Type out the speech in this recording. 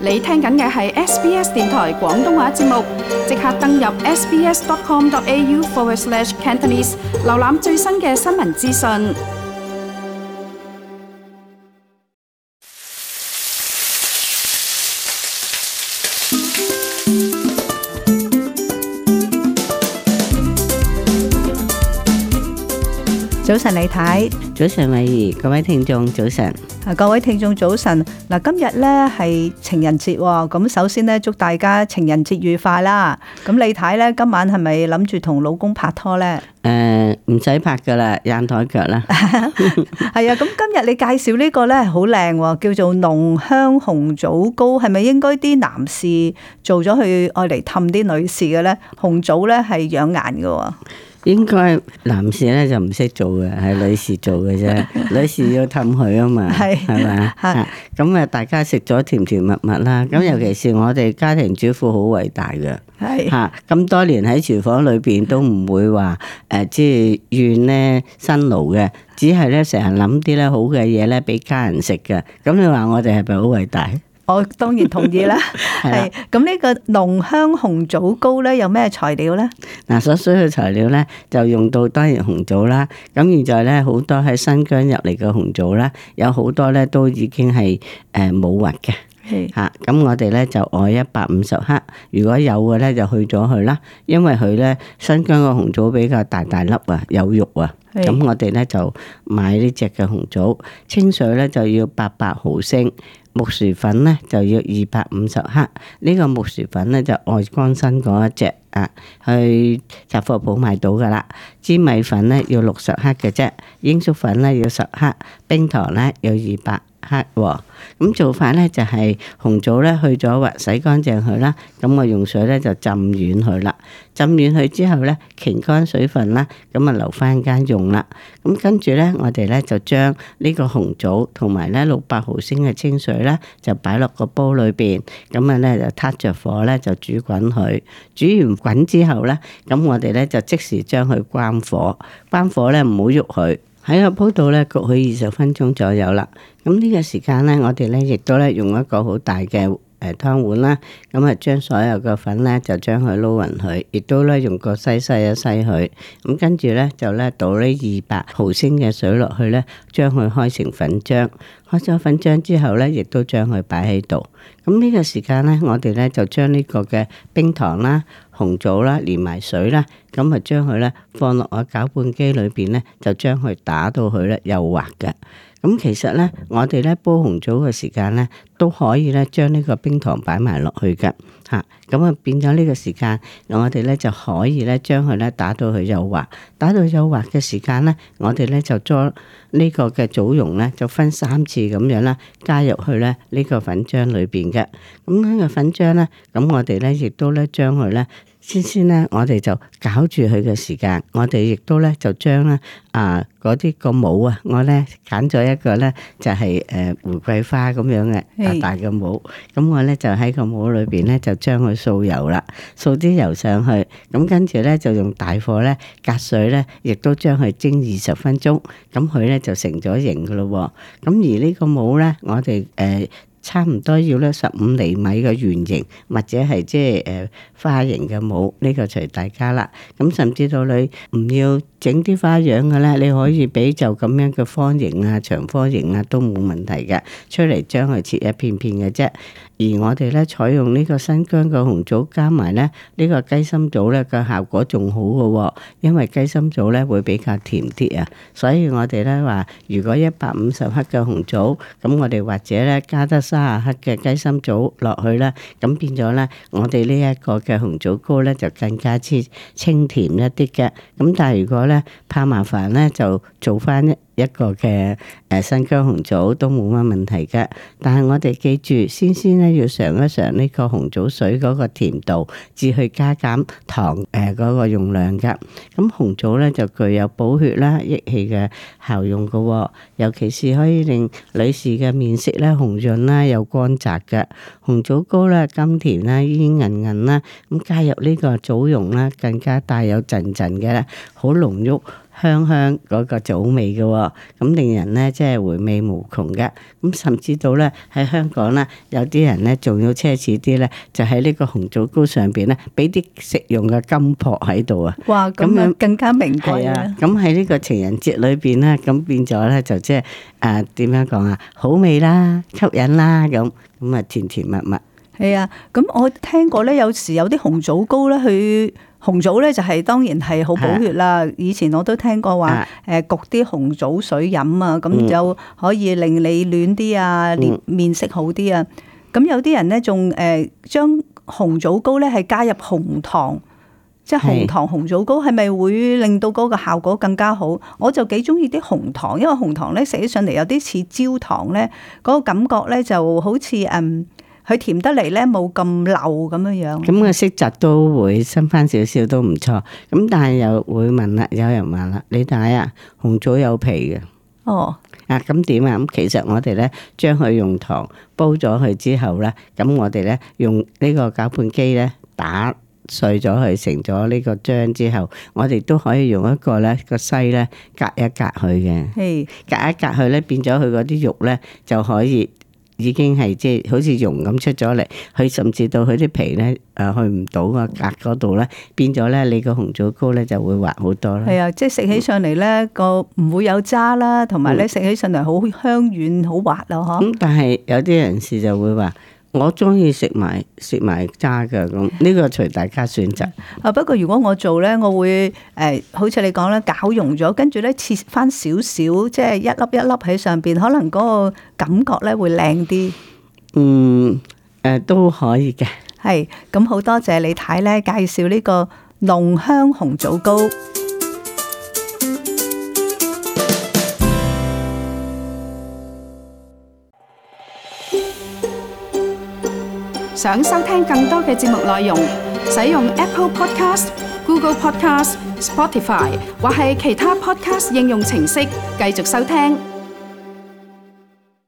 你聽緊嘅係 SBS 電台廣東話節目，即刻登入 sbs.com.au/Cantonese， 瀏覽最新嘅新聞資訊。 早晨李太， 早晨慧怡，各位聽眾早晨。 各位聽眾早晨。嗱，今日咧係情人節喎，咁首先咧祝大家情人節愉快啦。咁李太咧今晚係咪諗住同老公拍拖咧？ 唔使拍噶啦，硬台腳啦。 係啊，咁今日你介紹呢個咧好靚喎，叫做濃香紅棗糕，係咪應該啲男士做咗去愛嚟氹啲女士嘅咧？紅棗咧係養顏嘅喎。 應該男士咧就唔識做嘅，係女士做嘅啫。女士要氹佢啊嘛，係咪？咁啊，大家食咗甜甜蜜蜜啦。咁尤其是我哋家庭主婦好偉大嘅，係嚇咁多年喺廚房裏邊都唔會話即係怨咧辛勞嘅，只係咧成日諗啲咧好嘅嘢咧俾家人食嘅。咁你話我哋係咪好偉大？ 我當然同意啦。係咁呢個濃香紅棗糕咧有咩材料咧？ 嗱，所需嘅材料咧就用到當然紅棗啦。咁現在咧好多喺新疆入嚟嘅紅棗啦，有好多咧都已經係冇核嘅。嚇，咁我哋咧就愛150克，如果有嘅咧就去咗佢啦，因為佢咧新疆嘅紅棗比較大粒啊，有肉啊。咁我哋咧就買呢隻嘅紅棗，清水咧就要800毫升。木薯粉咧就要250克，呢個木薯粉咧就愛光新嗰一隻啊，去雜貨鋪買到噶啦。粘米粉咧要60克嘅啫，鷹粟粉咧要10克，冰糖咧要200克喎。咁做法咧就係紅棗咧去咗核，洗乾淨佢啦。咁我用水咧就浸軟佢啦，浸軟佢之後咧擎乾水分啦，咁啊留翻間用啦。咁跟住咧我哋咧就將呢個紅棗同埋咧600毫升嘅清水咧就擺落個煲裏邊，咁啊咧就撻着火咧就煮滾佢。煮完滾之後咧，咁我哋咧就即時將佢關火，關火咧唔好喐佢。喺個煲度咧焗佢20分鐘左右啦。咁呢個時間咧，我哋咧亦都咧用一個好大嘅湯碗啦。咁啊將所有嘅粉咧就將佢撈勻佢，亦都咧用個篩一篩佢。咁跟住咧就咧倒呢200毫升嘅水落去咧，將佢開成粉漿。開咗粉漿之後咧，亦都將佢擺喺度。咁呢個時間咧，我哋咧就將呢個嘅冰糖啦、紅棗啦，連埋水啦，咁啊將佢咧放落個攪拌機裏邊咧，就將佢打到佢咧幼滑嘅。咁其實咧，我哋咧煲紅棗嘅時間咧，都可以咧將呢個冰糖擺埋落去嘅嚇。咁啊變咗呢個時間，我哋咧就可以咧將佢咧打到佢幼滑。打到幼滑嘅時間咧，我哋咧就將呢個嘅棗蓉咧就分3次咁樣啦，加入去咧呢個粉漿裏邊嘅。咁呢個粉漿咧，咁我哋咧亦都咧將佢咧。先咧，我哋就攪住佢嘅時間，我哋亦都咧就將咧嗰啲個帽啊，我咧揀咗一個咧就係玫瑰花咁樣嘅大嘅帽，咁我咧就喺個帽裏邊咧就將佢掃油啦，掃啲油上去，咁跟住咧就用大火咧隔水咧，亦都將佢蒸20分鐘，咁佢咧就成咗型噶咯喎。咁而呢個帽咧，我哋差唔多要咧15厘米嘅圓形，或者係即係花形嘅帽，呢個隨大家啦。咁甚至到你唔要整啲花樣嘅咧，你可以俾就咁樣嘅方形啊、長方形啊都冇問題嘅，出嚟將佢切一片片嘅啫。而我哋咧採用呢個新疆嘅紅棗加埋咧呢個雞心棗咧嘅效果仲好嘅喎，因為雞心棗咧會比較甜啲啊。所以我哋咧話，如果150克嘅紅棗，咁我哋或者咧加得30克嘅雞心棗落去啦，咁變咗咧，我哋呢一個嘅紅棗糕咧就更加之清甜一啲嘅。咁但係如果咧怕麻煩咧，就做翻一個嘅新疆紅棗都冇乜問題嘅。但係我哋記住，先咧要嘗一嘗呢個紅棗水嗰個甜度，至去加減糖嗰個用量噶。咁紅棗咧就具有補血啦、益氣嘅效用噶，尤其是可以令女士嘅面色咧紅潤啦、有光澤嘅。紅棗糕咧甘甜啦、煙韌韌啦，咁加入呢個棗蓉啦，更加帶有陣陣嘅好濃郁香香嗰個棗味嘅喎，咁令人咧即係回味無窮嘅。咁甚至到咧喺香港咧，有啲人咧仲要奢侈啲咧，就喺呢個紅棗糕上邊咧，俾啲食用嘅金箔喺度啊！ 哇，咁樣更加名貴啊！ 咁喺呢個情人節裏邊咧，咁變咗咧就即係點樣講啊？好味啦，吸引啦，咁啊甜甜蜜蜜。 係啊，咁我聽過咧，有時有啲紅棗糕咧，佢紅棗咧就係當然係好補血啦。以前我都聽過話，焗啲紅棗水飲啊，咁就可以令你暖啲啊，面色好啲啊。咁有啲人咧仲將紅棗糕咧係加入紅糖，即係紅糖紅棗糕，係咪會令到嗰個效果更加好？我就幾中意啲紅糖，因為紅糖咧食起上嚟有啲似焦糖咧，嗰個感覺咧就好似佢甜得嚟咧，冇咁流咁樣樣。咁個色澤都會深翻少少都唔錯。咁但係又會問啦，有人話啦，你睇啊，紅棗有皮嘅。 哦。 咁點啊？咁其實我哋咧將佢用糖煲咗佢之後咧，咁我哋咧用呢個攪拌機咧打碎咗佢成咗呢個漿之後，我哋都可以用一個咧個篩咧隔一隔佢嘅。係。隔一隔佢咧，變咗佢嗰啲肉咧就可以。已經係即係好似溶咁出咗嚟，佢甚至到佢啲皮咧去唔到個格嗰度咧，變咗咧你個紅棗糕咧就會滑好多啦。係啊， 即係食起上嚟咧個唔會有渣啦，同埋咧食起上嚟好香軟好滑咯，嗬。咁但係有啲人士就會話，我中意食埋渣㗎，咁呢個隨大家選擇。 不過如果我做咧，我會好似你講咧，攪溶咗，跟住咧切翻少少，即係一粒一粒喺上邊，可能嗰個感覺咧會靚啲。 都可以嘅。 係，咁好多謝李太咧介紹呢個濃香紅棗糕。 想收聽更多嘅節目內容，使用 Apple Podcast、Google Podcast、Spotify 或係其他 Podcast 應用程式繼續收聽。